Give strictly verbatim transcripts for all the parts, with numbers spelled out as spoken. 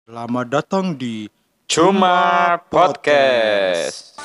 Selamat datang di Cuma Podcast.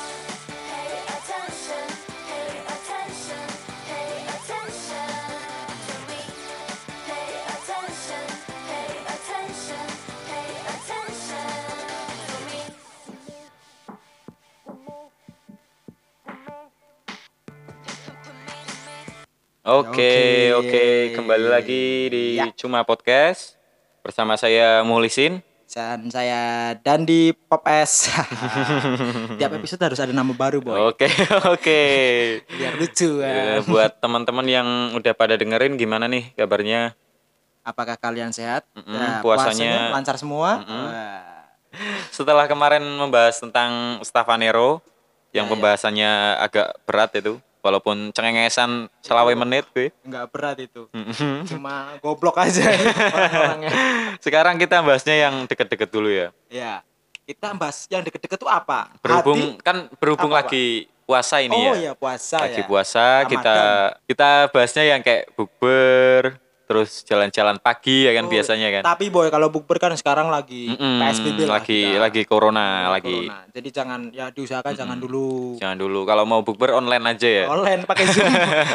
Oke, oke, kembali lagi di Ya. Cuma Podcast bersama saya Muhlisin. Dan saya Dandi Pop S. Tiap episode harus ada nama baru, boy. Oke, oke. Biar lucu Eh, ya. buat teman-teman yang udah pada dengerin gimana nih kabarnya? Apakah kalian sehat? Mm-mm, Ya, puasanya- lancar semua? Mm-mm. Wah. Setelah kemarin membahas tentang Stavanero yang Ya, ya. pembahasannya agak berat itu, walaupun cengengesan selawe menit gue. Enggak berat itu. Mm-mm. Cuma goblok aja orang-orangnya. Sekarang kita bahasnya yang deket-deket dulu ya. Ya. Kita bahas yang deket-deket tuh apa? Berhubung Hati? kan berhubung Apa, Pak? lagi puasa ini Oh ya. ya, puasa Lagi ya. puasa kita kita bahasnya yang kayak bukber, terus jalan-jalan pagi ya kan Oh, biasanya kan. Tapi boy, kalau bukber kan sekarang lagi Mm-mm, P S B B lah lagi kita. lagi corona lagi. Corona. Jadi jangan ya diusahakan jangan dulu Jangan dulu kalau mau bukber online aja ya. online pakai Zoom.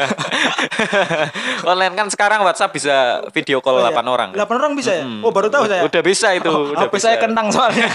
Online kan sekarang WhatsApp bisa video call Oh, iya. delapan orang. kan? delapan orang bisa ya? Mm-mm. Oh, baru tahu saya. Udah bisa itu, Oh, udah H P bisa. saya kentang soalnya.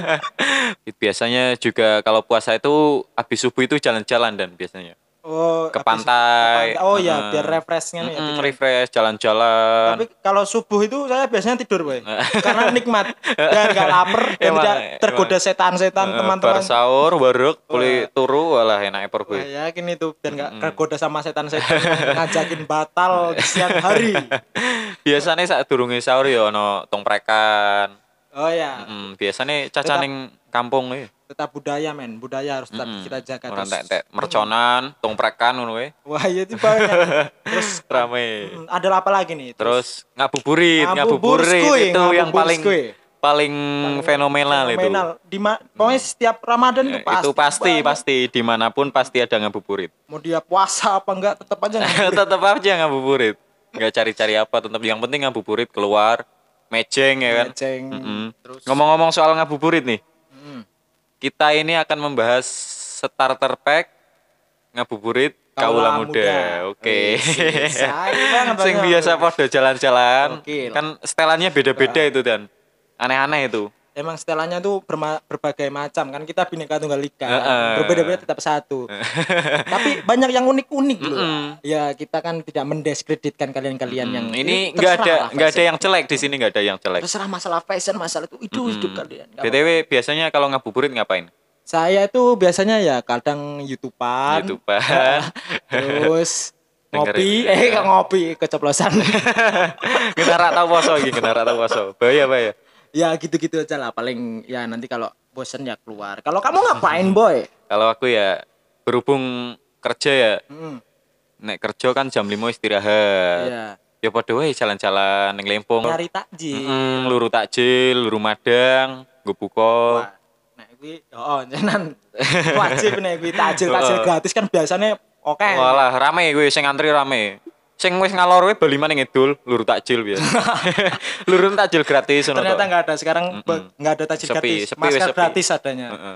Biasanya juga kalau puasa itu habis subuh itu jalan-jalan dan biasanya Oh, ke habis- pantai. ke pantai. Oh iya, Heeh. biar refreshnya nih ya. Mm-mm, pikiran. refresh jalan-jalan. Tapi kalau subuh itu saya biasanya tidur, boy. Karena nikmat dan gak lapar dan Emang, tidak tergoda emang. setan-setan Heeh, teman-teman. bar sahur, baruk, boleh turu, walah enaknya per Wah, gue. yakin itu dan gak tergoda sama setan-setan yang ngajakin batal di siang hari. Biasanya saat durunge sahur ya ono tongprekan. Oh ya, Mm, biasanya caca ning kampung ya. tetap budaya, men. Budaya harus tetap kita jaga Orang terus. tek-tek merconan, tongprekan ngono we. Wah, iya itu banyak. Terus Rame. hmm, ada apa lagi nih? Terus ngabuburit, Ngabuburit, ngabuburit itu yang paling ngabuburit. paling fenomenal, Fenomenal. Di ma- pokoknya setiap Ramadan itu. itu pasti. Itu pasti, banget. pasti dimanapun pasti ada ngabuburit. Mau dia puasa apa enggak tetap aja ngabuburit. Tetap aja ngabuburit. Nggak cari-cari apa, tetap yang penting ngabuburit keluar, mejeng ya kan. Mejeng. Mm-mm. Terus Ngomong-ngomong soal ngabuburit nih, hmm, kita ini akan membahas starter pack ngabuburit Kaula Muda. Oke. Wih, sayang banget Sing banget. biasa pada jalan-jalan. Gokil. Kan setelannya beda-beda itu dan aneh-aneh itu. Emang setelannya tuh berma- berbagai macam kan, kita Bhinneka Tunggal Ika. Heeh. Berbeda-beda tetap satu. Tapi banyak yang unik-unik loh. Mm-mm. Ya kita kan tidak mendiskreditkan kalian-kalian yang Hmm, ini Ya, nggak ada terserah lah nggak ada fashion. yang jelek di sini, nggak ada yang jelek. Terserah masalah fashion, masalah itu itu hidup kalian. Nggak B T W biasanya kalau ngabuburit ngapain? Saya itu biasanya ya kadang YouTubean, YouTubean. terus ngopi, Dengerin. eh nggak ngopi keceplosan. Kita rak tahu poso iki, kita rak tahu poso. Bahaya bahaya. Ya gitu-gitu aja lah. Paling ya nanti kalau bosen ya keluar. Kalau kamu ngapain, boy? Kalau aku ya berhubung kerja ya, Hmm, nek kerja kan jam lima istirahat. ya Ya padha wae jalan-jalan ning Lempung. nyari takjil. Mm, luru takjil, luru madang, nggo buka. Wah, nah kuwi oh jenengan wajib nek kuwi takjil takjil gratis kan biasanya oke. Walah rame kuwi sing antri rame. Sing wis ngalor wae bali maneh ngidul, luru takjil biasa. Luru takjil gratis ngono Ternyata to. nggak ada sekarang be- nggak ada takjil Sepi, gratis. sepi, wis Masker sepi. gratis adanya. Heeh.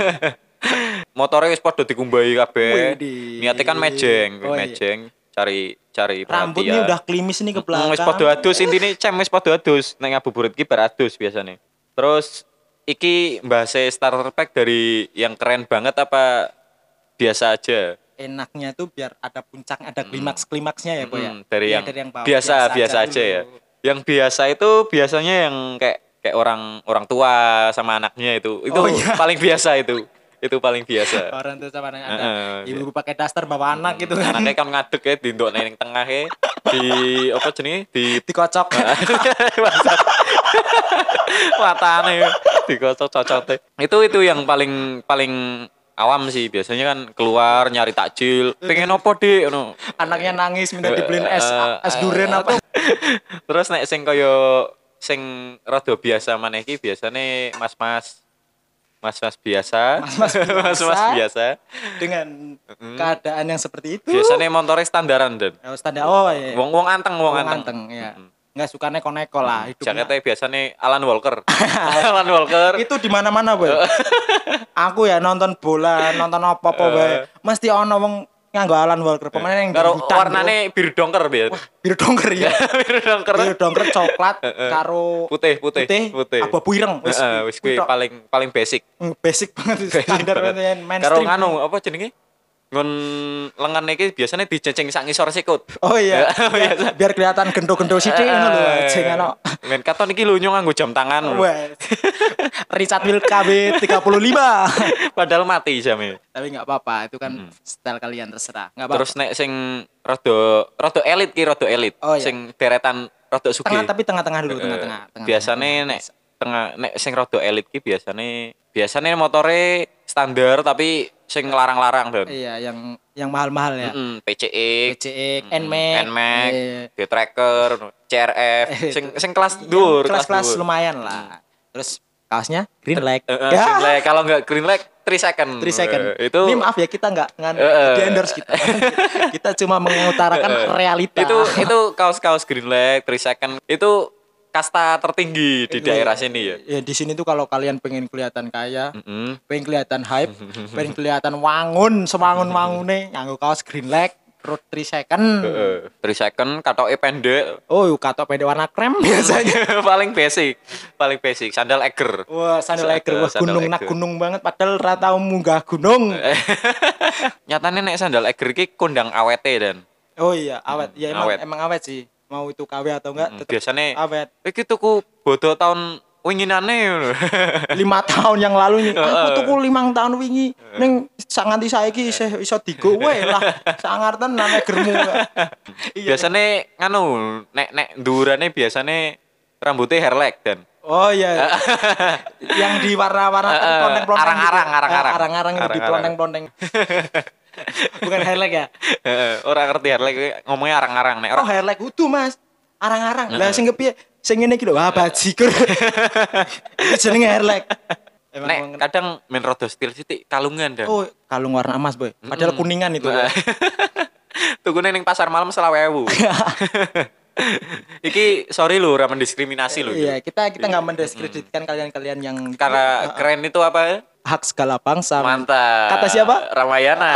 Motore wis padha dikumbahi kabeh. Widih. Niate kan mejeng, Oh, iya. mejeng cari cari Rambut ini perhatian. udah klimis nih ke Mm, belakang. wis padha adus intine cem wis padha adus. Nek ngabuburit ki bar adus biasane. Terus iki mbahase starter pack dari yang keren banget apa biasa aja? Enaknya tuh biar ada puncak, ada klimaks-klimaksnya ya, Boy ya. Hmm, dari Iya, yang, bawah. biasa biasa aja ya. dulu. Yang biasa itu biasanya yang kayak kayak orang orang tua sama anaknya itu. Itu Oh, iya. paling biasa itu. Itu paling biasa. Orang tuh sama ada Heeh, ibu pakai daster bawa anak gitu kan. Anaknya kan ngadeg ya di ndok ning tengah ya. Di apa jenenge? Di Dikocok. matane dikocok cocote. Itu itu yang paling paling awam sih. Biasanya kan keluar nyari takjil. Pengen opo, Dik? Ngono. Anaknya nangis minta dibeliin es Eh, es durian eh, apa. Terus nek sing kaya sing rada biasa maneh iki biasane mas-mas mas-mas biasa. Mas-mas biasa. Mas-mas biasa. Dengan keadaan yang seperti itu. Biasane montore standaran dan Oh, standar. Oh iya. wong-wong anteng, wong Wong anteng. anteng, ya. Mm-mm. Enggak suka neko-neko lah hidupnya. Jaketnya biasanya Alan Walker. Alan Walker. Itu di mana-mana, Boy. Aku ya nonton bola, nonton apa-apa bae. Mesti ono wong nganggo Alan Walker. Pemain yang Karo dangdutan, warnane biru dongker biar. biru dongker ya. Biru dongker. Biru dongker coklat karo Putih, putih, putih, abu ireng. Wis Heeh, wis kuwi paling paling basic. basic banget standar banget. mainstream. Karo nganu apa jenenge? Ngon lengan iki biasanya dicenceng sak ngisor sikut. Oh iya. biar, biar kelihatan gendo-gendo sithik ngono lho, ajeng ana. Men katon iki lunyo nganggo jam tangan. Wes. Richard Mille K B tiga puluh lima. Padahal mati jamnya. Tapi enggak apa-apa, itu kan style kalian terserah. Enggak apa-apa. Terus nek sing rada rada elit ki rada elit. Oh, iya. Sing deretan rada sugih. Tengah tapi tengah-tengah dulu, tengah-tengah. tengah Biasane nek tengah nek sing rada elit ki biasane biasane motore standar tapi sing larang-larang dan. Iya, yang yang mahal-mahal ya. Mm-mm, P C X, P C X, Nmax, Nmax, iya. D-Tracker, C R F, sing sing kelas dhuwur, kelas-kelas dhuwur. lumayan lah. Terus kaosnya green leg. Uh, uh, green leg. Kalau nggak green leg, three second. three second. Uh, itu. Ini maaf ya kita nggak nggak Uh, uh. di endorse kita. Kita cuma mengutarakan Uh, uh. realita. Itu itu kaos-kaos green leg, three second. Itu kasta tertinggi di daerah sini ya. Ya di sini tuh kalau kalian pengen kelihatan kaya, Mm-hmm. pengen kelihatan hype, pengen kelihatan wangun, semangun-wangune nganggo kaos green leg, road three second. Uh, three second, katoke pendek. Oh, katok pendek warna krem biasanya. Paling basic, paling basic. Sandal Eger. Wah, sandal Eger, wah Sandal gunung nak Eger. gunung banget padahal ra tau munggah gunung. Nyatane nek sandal Eger ki kondang awete dan. Oh iya, awet. Ya emang awet. emang awet sih. Mau itu K W atau enggak tetap Biasane awet. iki tuku bodo tahun winginane ngono. lima tahun yang lalu nih aku tuku limang tahun wingi ning sak nganti saiki isih iso digo wae lah sangar tenan Egermu. Biasane nganu nek nek ndurane biasane rambutnya hairlag dan. Oh iya. Yang di warna-warna Uh, uh, ploneng-ploneng. arang-arang, gitu. arang-arang. Eh, Arang-arang itu di Arang-arang. ploneng-ploneng. Bukan highlight ya? Heeh, ora ngerti hairlag ngomongnya arang-arang nek Oh, ora. highlight kudu, Mas. Arang-arang. Lah sing kepiye? Sing ngene iki lho, wah bajigur. Itu jenenge highlight. Emang Nek emang- kadang main rada stil sithik kalungan dan. Oh, kalung warna emas, Boy. Padahal kuningan itu. Boy. Tukune ning pasar malam selawe ewu. Iki sorry lho ora mendiskriminasi lho. Iya, kita kita nggak mendiskreditkan kalian-kalian yang Karena keren itu apa? hak segala bangsa. Mantap. Kata siapa? Ramayana.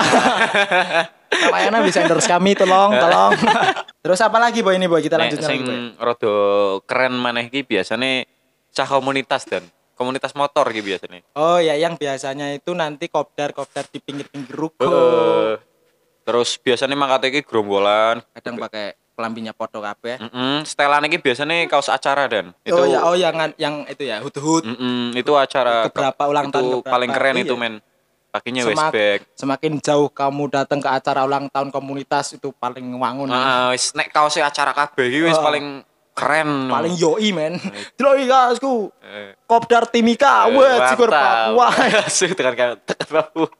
Ramayana bisa endorse kami, tolong, tolong. Terus apa lagi, Boy? Ini, Boy, kita Nek lanjutkan sing lagi, Boy. rada keren maneh iki biasane cah komunitas dan komunitas motor iki biasane. Oh ya, yang biasanya itu nanti kopdar-kopdar di pinggir-pinggir ruko. Heeh. Terus biasanya mangkate iki gerombolan. Kadang pakai kelambinya podo kabeh. Heeh, setelan iki biasanya kaos acara dan. Itu Oh ya, oh yang yang itu ya, hut-hut. Mm-mm, itu acara Keberapa ulang itu tahun, keberapa, paling keren iya. itu men. Pakinya Semak- westback. Semakin jauh kamu datang ke acara ulang tahun komunitas itu paling wangun. Heeh, wis nek kaosnya acara kabeh iki wis Oh. paling keren. Paling yoi, men. Delok iki kasku. Eh, Kopdar Timika, wah, cikur Papua. Sih tekan kan tekan Papua.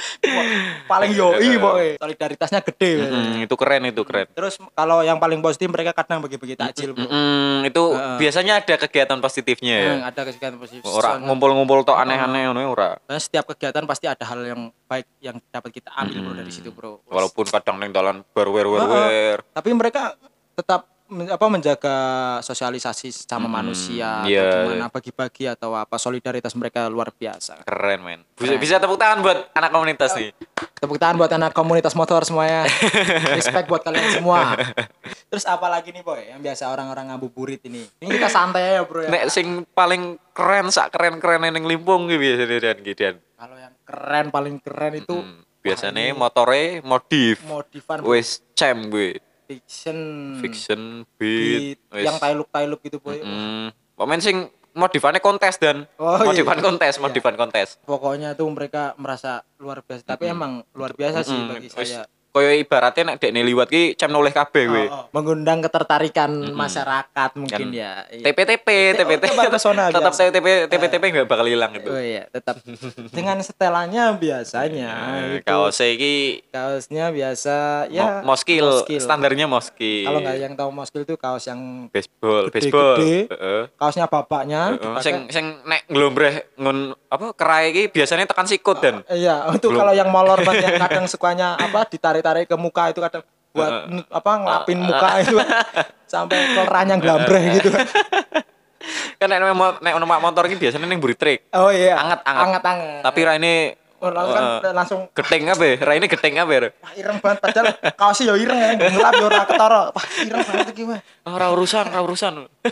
Paling yoi, Boy. Solidaritasnya gede. men. Mm, itu keren itu keren. Terus kalau yang paling positif mereka kadang bagi-bagi takjil, Bro. Mm, itu biasanya ada kegiatan positifnya ya. Hmm, ada kegiatan positif. Ora ngumpul-ngumpul tok aneh-aneh ngono ora. Dan setiap kegiatan pasti ada hal yang baik yang dapat kita ambil, Bro, dari situ, Bro. Walaupun kadang ning dalan ber-wer-wer-wer. Tapi mereka tetap men- apa menjaga sosialisasi sama manusia iya. atau gimana bagi-bagi atau apa solidaritas mereka luar biasa. Keren men. Bisa, bisa tepuk tangan buat anak komunitas nih. Tepuk tangan buat anak komunitas motor semuanya. Respect buat kalian semua. Terus apa lagi nih, Boy? Yang biasa orang-orang ngabuburit ini. Ini kita santai ya, Bro ya. Nek sing paling keren sak keren-keren ning Limpung ki biasane dan gidan. Kalau yang keren paling keren itu Hmm, biasane motore modif. modifan, Bro. Wis cem gue. Fiction, Fiction beat, beat. Wis. yang tailuk-tailuk gitu, Boy. Hmm, pemain sing modifannya kontes dan Oh, iya. modifan kontes, modifan kontes. Pokoknya tuh mereka merasa luar biasa. Tapi emang luar biasa sih Hmm, bagi wis. saya. Koyo ibaratnya nek dekne liwat ki cem noleh kabeh gue. Oh, oh. Mengundang ketertarikan masyarakat mungkin Kan ya. Iya. T P T P, T P T P, tetap pesona tetap biasa. T P T P T P nggak bakal hilang itu. Oh iya, tetap dengan setelannya biasanya Eh, itu kaosnya iki kaosnya biasa ya mo- moskil, moskil. standarnya moskil. Kalau nggak yang tahu moskil itu kaos yang baseball, gede-gede. baseball. Heeh. kaosnya bapaknya Heeh. dipakai- Sing sing nek nglombreh ngun apa kerai iki biasanya tekan sikut dan. iya, itu Belum. kalau yang molor banget yang kadang sukanya apa ditarik-tarik ke muka itu kadang buat n- apa ngelapin muka itu sampai keleranya nglambreh gitu. Kan nek mo- nek numpak motor iki biasanya ning mburi trik. Oh iya. Anget-anget. Anget-anget. Tapi raine Oh, langsung kan eh, langsung geting apa ya? Raine geting apa ya? wah, ireng banget padahal kaosnya ya ireng ya, ngelap ya ora ketara. Wah, ireng banget iki wah. Ora urusan, ora urusan.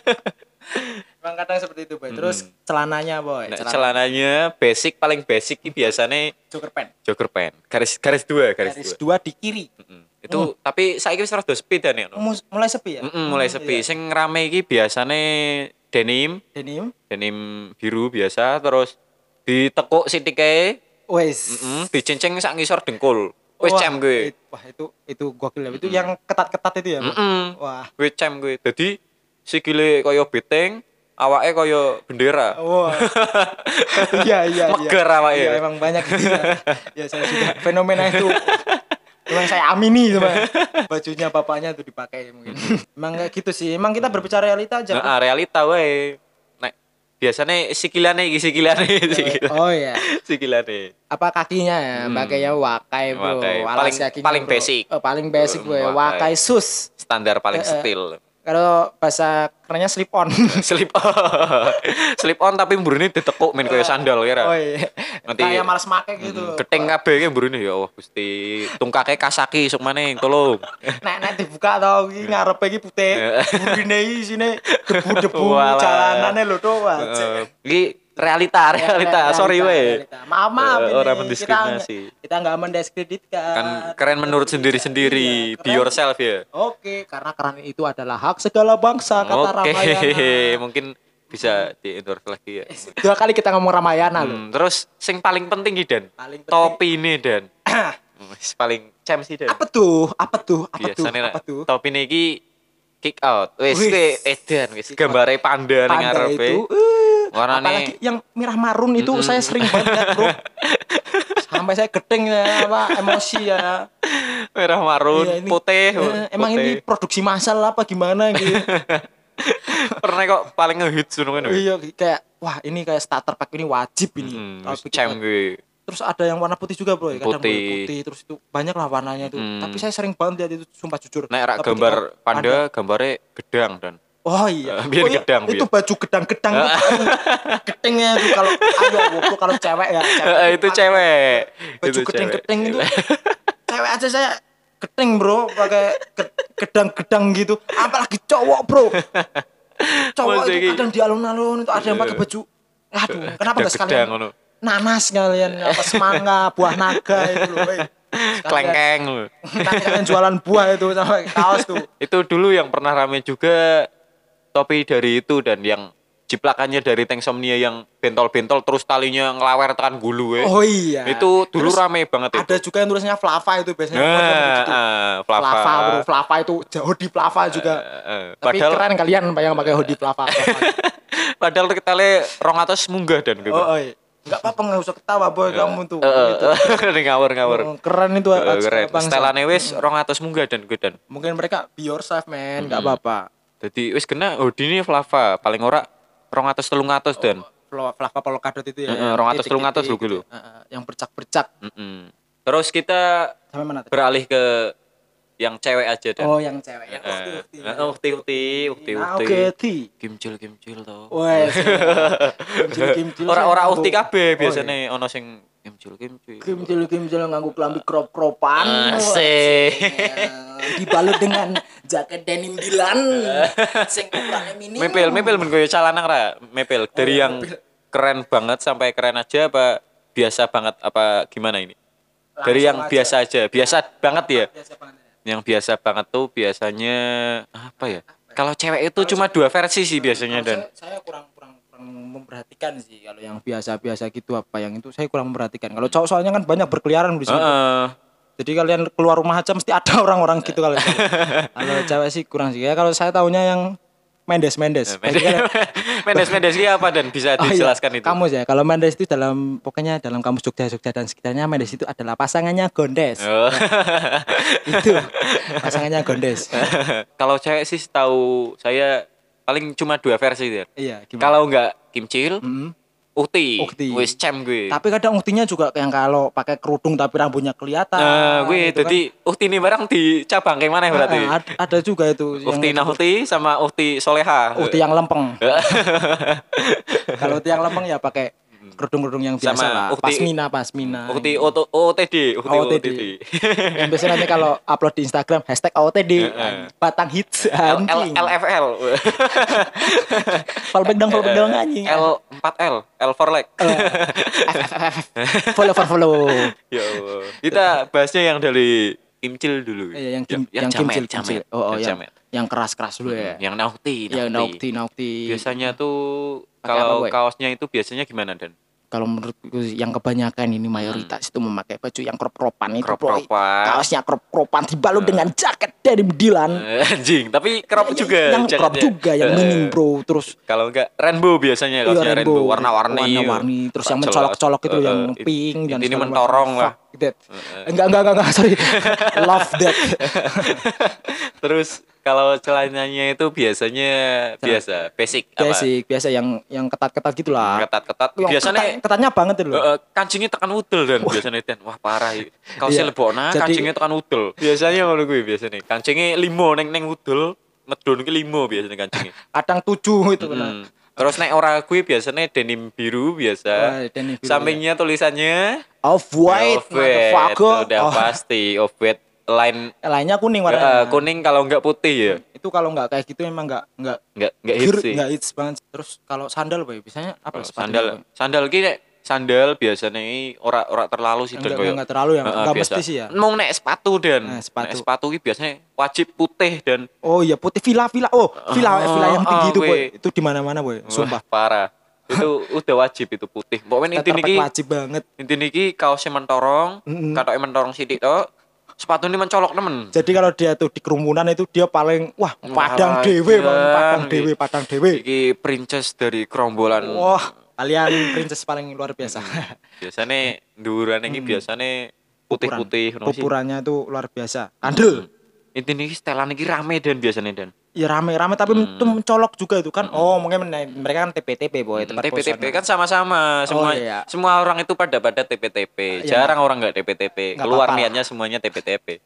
Emang kadang seperti itu, Boy. Terus celananya, Boy. Nek Celana celananya basic paling basic iki biasanya jogger pants. jogger pant. Garis garis dua, garis, Garis dua. dua di kiri. Mm-mm. Itu tapi saiki wis rada sepi dan ya. Mus- mulai sepi ya? Mm-mm, mulai Hmm, sepi. iya. Sing rame iki biasane denim, Denim. denim biru biasa terus ditekuk sitike, Wes. heeh, dicincing sak ngisor dengkul. Wis Wah, cem kuwi. it- Wah, itu itu gokil ya. Itu yang ketat-ketat itu ya, Bang? Heeh. Wah. Wis cem kuwi. Dadi sikile kaya beteng, awake kaya bendera. Wah. Iya, iya, iya. Meger awake. Iya, emang banyak gitu ya. Ya, saya juga fenomena itu memang saya amini itu, Bang. Bajunya bapaknya tuh dipakai mungkin. Emang kayak gitu sih. Emang kita berbicara realita aja. Bang. Nah, realita wae. Nek biasane sikilane iki sikilane sikilane. Oh iya. Sikilane. Apa kakinya ya? Hmm. Pakainya wakai, Bro. Wakai. Alas Paling- kakinya, paling bro. basic. Oh, paling basic, Eh, Bro. wakai. Wakai sus. Standar paling Eh, eh. setil. Kalau bahasa kerennya slip on. Slip on. Slip on tapi mburine ditekuk men kaya sandal kira. Oh iya. Nanti- Kayak males make gitu. Geting kabeh iki mburine ya Allah Gusti. Tungkake Kasaki sok maning tolong. Nek nek dibuka tau iki ngarepe iki putih. Burine iki sine debu-debu Walah. jalanane lho to. Wah, Heeh. Iki realita, realita. Sorry we. realita. Maaf, maaf Eh, ini. orang Kita mendiskriminasi. nggak- Kita enggak mendiskreditkan. Kan keren menurut sendiri-sendiri. Iya, Be keren. yourself ya. Oke, karena keren itu adalah hak segala bangsa kata Oke, Ramayana. mungkin bisa di endorse lagi ya. Dua kali kita ngomong Ramayana loh. Hmm, terus sing paling penting iki Dan. Paling penting. Topi ini Dan. Wis paling cem sih Dan. Apa tuh? Apa tuh? Apa tuh? Biasane Apa nek tuh? topi ini iki kick out. Wis Wis. kuwi edan wis gambare panda ning Panda ngarepe. itu. eh, Warnane- apalagi yang merah marun itu saya sering banget lihat, Bro. Sampai saya gedeng ya, apa emosi ya. Merah marun, Iya, ini- putih. eh, emang putih. ini produksi massal apa gimana gitu. pernah kok paling ngehits ngono kan. Iya kayak wah ini kayak starter pack ini wajib ini. Hmm, Tapi cem kita- kuwi. Terus ada yang warna putih juga, Bro. Ya. Kadang Putih. boleh putih terus itu banyak lah warnanya itu. Hmm. Tapi saya sering banget lihat itu sumpah jujur. Nek rak Tapi gambar ketika panda, gambare gedang Dan. Oh iya. Eh, biar Oh, iya. gedang, Itu biar. baju gedang-gedang itu. Gedengnya itu kalau ayo waktu kalau cewek ya. Eh, itu cewek. Baju Itu gedeng-gedeng cewek. itu. Cewek aja saya gedeng, Bro, pakai ge- gedang-gedang gitu. Apalagi cowok, Bro. Cowok Maksudnya itu iki- kadang di alun-alun itu ada yang pakai baju. Aduh, kenapa enggak Gedang-gedang sekalian ngono. nanas kalian apa semangka, buah naga itu loh, weh. Sekalian- Klengkeng lho. Nanti kalian jualan buah itu sama kaos tuh. Itu dulu yang pernah rame juga topi dari itu dan yang jiplakannya dari Tanksomnia yang bentol-bentol terus talinya ngelawer tekan gulu we. Oh iya. Itu dulu Terus rame banget itu. ada juga yang tulisnya Flava itu biasanya. Nah, gitu. ah, Flava, Flava. Bro. Flava itu hoodie Flava juga. Eh, eh, Tapi padahal keren kalian yang pakai hoodie Flava. padahal kita le rong atas munggah dan gitu. Oh, oh iya. Enggak apa-apa enggak usah ketawa, Boy, kamu tuh. Eh, Gitu. eh, ngawur ngawur. Oh, keren itu Eh, keren. bangsa. Setelane wis rong atas munggah dan gue dan. Mungkin mereka be yourself, man, enggak apa-apa. Jadi wis kena hoodie ini Flava paling ora rong atas telung atas dan. Flo- Flava polkadot itu ya. Heeh, yang rong atus, titik-titik telung atus lho, gitu. lho. Heeh, yang bercak-bercak. Mm-mm. Terus kita Sampai mana tadi? beralih ke yang cewek aja dan. Oh, yang cewek ya. Eh, eh, ukti ukti ukti Nah, ukti. oke, Ti. Kimcil kimcil to. Wes. Kimcil-kimcil. Ora-ora saya ukti nganggo- kabeh Oh, biasane ono sing kimcil kimcil. Kimcil-kimcil nganggo klambi crop-cropan. Asik. Wah, dibalut dengan jaket denim Dilan sing ukurannya mini. Mepel mepel men koyo celana ra mepel dari iya, yang mepel. keren banget sampai keren aja apa biasa banget apa gimana ini? Dari Langsung yang aja. biasa aja, biasa banget ya. Biasa banget ya. Yang biasa banget tuh biasanya apa ya? Kalau cewek itu cuma dua versi sih biasanya Kalau dan. saya, saya kurang kurang kurang memperhatikan sih kalau yang biasa-biasa gitu apa yang itu saya kurang memperhatikan. Kalau cowok soalnya kan banyak berkeliaran di sini. Heeh. Jadi kalian keluar rumah aja mesti ada orang-orang gitu kalau kalau cewek sih kurang sih. Ya kalau saya tahunya yang Mendes Mendes. Jadi kalian- Mendes Mendes ini apa dan bisa Oh iya, dijelaskan itu? Kamus ya. Kalau Mendes itu dalam pokoknya dalam kamus Jogja Jogja dan sekitarnya Mendes itu adalah pasangannya Gondes. Oh. Itu pasangannya Gondes. Kalau cewek sih tahu saya paling cuma dua versi ya. Iya, gimana? Kalau nggak kimcil, Mm-mm. Ukti. Ukti. Wis cem gue. Tapi kadang uktinya juga yang kalau pakai kerudung tapi rambutnya kelihatan. Nah, gue gitu jadi kan. Ukti ini barang dicabang kayak mana berarti? Ah, ada, ada juga itu. Ukti Nahukti sama Ukti Soleha. Ukti yang lempeng. Kalau ukti yang lempeng ya pakai kerudung-kerudung yang biasa sama lah. Ukti, pasmina, pasmina. Ukti O T D, Ukti O T D. Yang biasanya nanti kalau upload di Instagram hashtag O T D, batang hits anjing. L F L. Fallback dong, fallback dong anjing. L empat L, L for leg. Follow for follow. Ya Allah. Kita bahasnya yang dari Kimcil dulu. Iya, yang kim, yang, yang jamet, kimcil, jamet. kimcil. Oh, oh yang, yang, yang keras-keras dulu ya. Yang Naukti, Yang Naukti, Naukti. Biasanya tuh Pakai kalau apa, kaosnya itu biasanya gimana, Dan? Kalau menurutku yang kebanyakan ini mayoritas hmm. itu memakai baju yang crop-cropan itu, crop-cropan. Kaosnya crop-cropan dibalut uh. dengan jaket dari Dilan. Anjing, tapi crop ya, juga. Yang crop juga, yang uh. minim bro. Terus kalau enggak rainbow biasanya kaosnya iya, rainbow, rainbow warna-warni. Warna-warni, terus yang mencolok-colok itu uh, yang pink uh, dan ini mentorong lah. That. Uh. Enggak, enggak, enggak, enggak, sorry. Love that. Terus kalau celananya itu biasanya Celana. biasa, basic Basic, apa? biasa yang yang ketat-ketat gitulah. Ketat-ketat. Biasanya ketat, ketatnya banget itu loh. Uh, kancingnya tekan udel dan wah. Biasanya Dan. Wah, parah. Kaosnya yeah. lebokna, kancingnya tekan udel. Biasanya ngono kuwi biasanya. Kancingnya limo neng neng udel, medun ki limo biasanya kancingnya. Kadang tujuh itu kan. Hmm. Terus nek ora kuwi biasanya denim biru biasa. Oh, denim biru, sampingnya ya. Tulisannya off white, motherfucker. Udah oh. pasti off white. Line lainnya kuning warnanya. Uh, kuning kalau enggak putih ya. Itu kalau enggak kayak gitu emang enggak enggak enggak enggak hits sih. Enggak hits banget. Terus kalau sandal boy biasanya apa oh, sandal? Sandal ki sandal biasanya ora ora terlalu sih dan koyo. Enggak terlalu ya. Enggak uh, mesti sih ya. Mau nek sepatu dan nah, sepatu. Nek sepatu ki biasanya wajib putih dan oh iya putih villa-villa. Oh, villa oh, villa yang tinggi oh, itu boy. Itu di mana-mana boy. Sumpah. Wah, parah. Itu udah wajib itu putih. Pokoknya inti niki wajib banget. Inti niki kaosnya mentorong, mm-hmm. katoke mentorong sithik tok. Sepatu ini mencolok temen. Jadi kalau dia tuh di kerumunan itu dia paling wah padang dewe bang, padang dewe, padang dewe. Iki princess dari kerombolan. Wah, kalian princess paling luar biasa. Biasanya dhuwurane iki biasane putih-putih ngono sih. Ukurannya itu luar biasa. Kandel. Intine iki setelan iki rame dan biasanya Dan. Ya rame-rame tapi hmm. itu mencolok juga itu kan. Hmm. Oh, mungkin mereka kan T P T P boy, tempat T P T P kan sama-sama. Semua oh, iya. semua orang itu pada pada T P T P. Ya. Jarang orang enggak T P T P. Gak keluar apa-apa. Niatnya semuanya T P T P.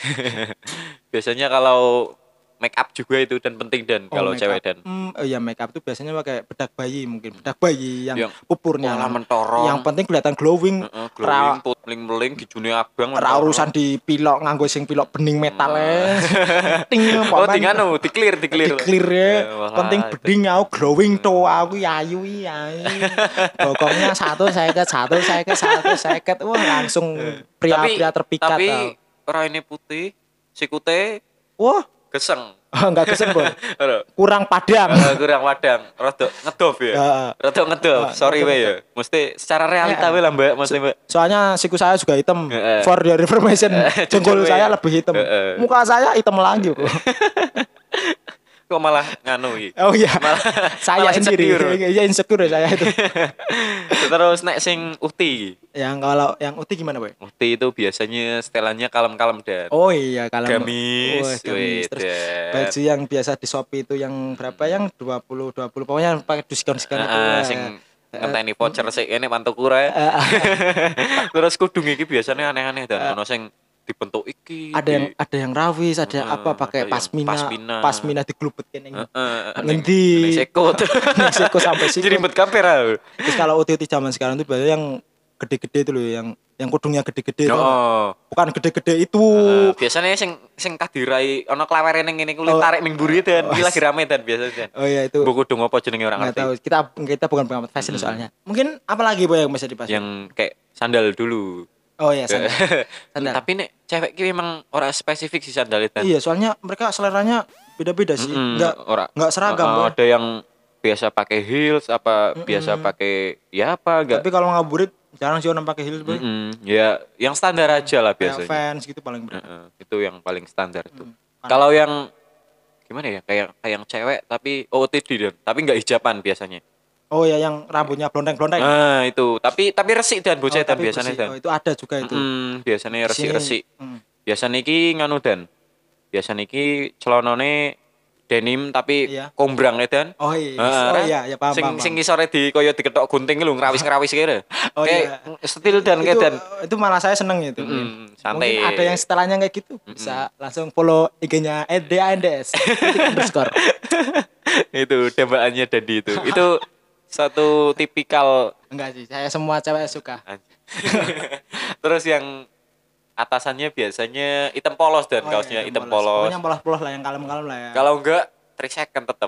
Biasanya kalau make up juga itu dan penting Dan oh, kalau cewek Dan. Hmm, oh ya make up tuh biasanya pakai bedak bayi mungkin. Bedak bayi yang, yang pupurnya lah mentorong. Yang penting kelihatan glowing. Heeh, uh, uh, glowing, putling-meling gijune abang. Ora urusan dipilok nganggo sing pilok bening metal e. Ting oh, ting anu, di-clear, di-clear. Di-clear ya. Penting beding aku glowing to aku ayu ya. Bokongnya satu seket, satu seket, satu seket. Wah, langsung pria-pria terpikat. Tapi ora ini putih, sikute wah geseng. Oh, enggak geseng, Boy. Kurang padang. Uh, kurang padang. Rada ngedop ya. Uh, Rada ngedop. Uh, Sorry we ya. Mesti secara realita we lah, Mbak. Mesti, Mbak. Soalnya siku saya juga hitam. Uh, For your information, jengkol saya lebih hitam. Uh, uh. Muka saya hitam lagi kok. Kok malah nganu iki. Oh iya. Malah, saya malah sendiri. Iya insecure saya itu. Terus nek sing Ukti. Yang kalau yang Ukti gimana, Boy? Ukti itu biasanya setelannya kalem-kalem Dan. Oh iya, kalem. Gamis. Oh, gamis. Terus baju yang biasa di Shopee itu yang berapa yang dua puluh dua puluh pokoknya pakai diskon-diskon uh, itu. Uh, sing ngenteni voucher sik kene Pantukura. Terus kudung iki biasanya aneh-aneh Dan. Ono sing dibentuk iki ada yang di, ada yang rawis ada uh, apa pakai pasmina pasmina, pasmina diglubet kene uh, uh, ngendi seko seko sampai sini ribet kamera. Terus kalau O T T zaman sekarang tuh biasanya yang gede-gede itu loh yang yang kudungnya gede-gede oh. Bukan gede-gede itu uh, biasanya sing sing kadirai ana klawere ning ngene kuwi oh. Tarik ning mburi Dan iki lagi rame Dan biasanya. Oh iya itu buku kudung apa jenenge orang ngerti. Tahu. Kita kita bukan pengamat fashion hmm. soalnya. Mungkin apa lagi Boy yang bisa dibahas? Yang kayak sandal dulu. Oh iya sandal. Sandal. Tapi nek cewek ki memang ora spesifik sih sandal itu. Iya, soalnya mereka seleranya beda-beda sih. Mm-hmm. Enggak ora enggak seragam, uh, uh, ada yang biasa pakai heels apa mm-hmm. biasa pakai ya apa enggak. Tapi kalau ngabuburit jarang sih orang pakai heels, Boy. Mm-hmm. Ya, yang standar aja lah biasanya. Fans gitu paling berat. Uh, uh, itu yang paling standar tuh. Mm. Kalau yang gimana ya? Kayak kayak yang cewek tapi O T D Dan, tapi enggak hijaban biasanya. Oh ya yang rambutnya blondeng-blondeng. Nah, itu. Tapi tapi resik Dan bocah oh, Dan biasanya Dan. Oh, itu ada juga itu. Mm, biasanya resik-resik. Mm. Biasanya iki nganu Dan. Biasanya iki celanane denim tapi iya. kombrang edan. Oh iya. Uh, oh iya, ya paham. Sing paham, sing ngisore di koyo diketok gunting lho ngrawis-ngrawis kira. Oh iya. Stil dan itu, kedan. Itu malah saya seneng itu. Mm, santai. Mungkin ada yang setelahnya kayak gitu. Bisa mm-mm. langsung follow I G-nya et de a en de es. underscore. Itu tembakannya Dandi itu. Itu satu tipikal. Enggak sih, saya semua cewek suka. Terus yang atasannya biasanya hitam polos dan oh, kaosnya iya, hitam polos. Pokoknya polos-polos lah, yang kalem-kalem lah ya. Kalau enggak, three second tetap.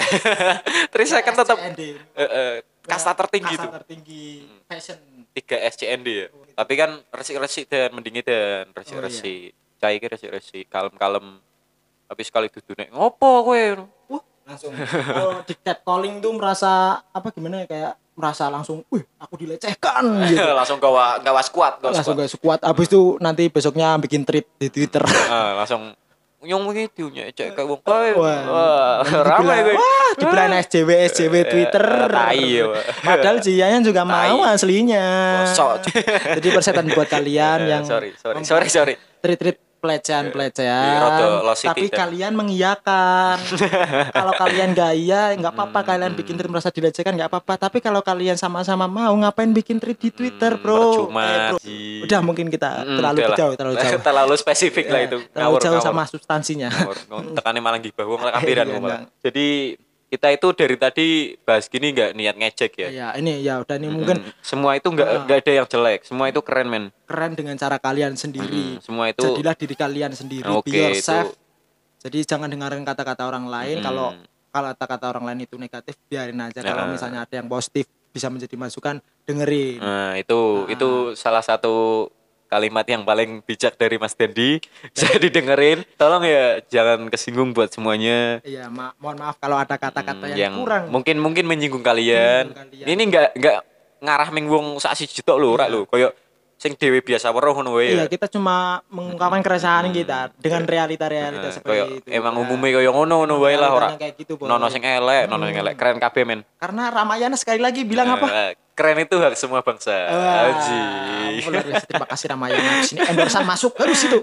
three second tetap. Uh, uh, kasta tertinggi kasta tuh. Kasta tertinggi fashion. tiga S C N D ya. Oh, gitu. Tapi kan resik-resik dan mendingin dan resik-resik. Oh, iya. Cai ki resik-resik, kalem-kalem. Tapi sekali dudu nek ngopo kowe? Wah, langsung kalau di catcalling tuh merasa apa gimana ya, kayak merasa langsung, wih aku dilecehkan gitu. Langsung gawa gawa squad, gawa langsung gawa squad. Abis itu nanti besoknya bikin tweet di Twitter. Uh, langsung nyong gitu nya cek kayak wong kowe. Wah, ramai kowe. Wah, dibilang S J W S J W Twitter. Tai yo. Padahal Jianya juga mau aslinya. Kosok. Jadi persetan buat kalian yang sorry, sorry, sorry, sorry. Tweet-tweet pelecehan-pelecehan, tapi dan. Kalian mengiyakan. Kalau kalian gak iya, nggak apa-apa. Hmm, kalian bikin tweet merasa dilecehkan nggak apa-apa. Tapi kalau kalian sama-sama mau, ngapain bikin tweet di Twitter, bro? Percuma, eh, bro. Udah mungkin kita hmm, terlalu jauh, terlalu jauh. terlalu spesifik lah itu. Terlalu ngawur, jauh ngawur. Sama substansinya. Tekannya malah gibah, wong kampiran malah. Jadi kita itu dari tadi bahas gini nggak niat ngejek ya. Iya, ini ya udah ini hmm, mungkin semua itu nggak nggak uh, ada yang jelek, semua itu keren men. Keren dengan cara kalian sendiri. Hmm, semua itu. Jadilah diri kalian sendiri. Okay, be yourself. Itu. Jadi jangan dengarkan kata-kata orang lain. Hmm. Kalau kalau kata-kata orang lain itu negatif, biarin aja. Nah. Kalau misalnya ada yang positif bisa menjadi masukan, dengerin. Nah itu nah. itu salah satu kalimat yang paling bijak dari Mas Dandi. Saya didengerin. Tolong ya jangan kesinggung buat semuanya. Iya, ma- mohon maaf kalau ada kata-kata hmm, yang, yang kurang. Mungkin mungkin menyinggung kalian. Menyinggung kalian. Ini enggak enggak ngarah ming wong sak siji tok lho, ora lho. Koyo sing dhewe biasa weruh ngono wae. Iya, kita cuma mengungkapkan keresahan hmm. kita dengan realita-realita nah, seperti koyo, itu. Emang ya. Umumnya koyo ngono-ngono wae lah ora. Gitu, nono sing elek, hmm. nono sing elek, keren kabeh men. Karena Ramayana sekali lagi bilang nah, apa? Keren itu hak semua bangsa. Aji. Terima kasih Ramayana. Sini endorsan masuk harus itu.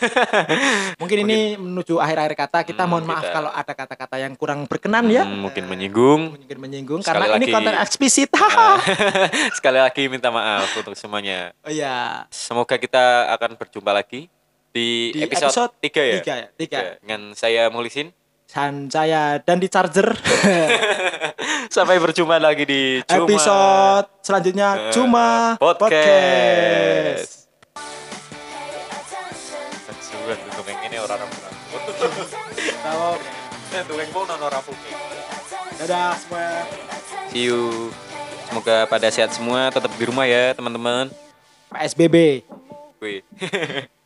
Mungkin ini menuju akhir-akhir kata. Kita mohon maaf kita... kalau ada kata-kata yang kurang berkenan ya. Hmm, mungkin menyinggung. Mungkin menyinggung sekali karena lagi, ini konten eksplisit. Sekali lagi minta maaf untuk semuanya. Oh iya. Semoga kita akan berjumpa lagi di, di episode, episode tiga ya. tiga ya. tiga. Dengan saya Mulisin. Dan saya dan di Charger. Sampai berjumpa lagi di Cuma episode selanjutnya Cuma Podcast. Sudah untuk yang ini orang rambut. Tahu. Untuk yang mau nono rambut. Dadah semua. See you. Semoga pada sehat semua, tetap di rumah ya teman-teman. P S B B. Wih.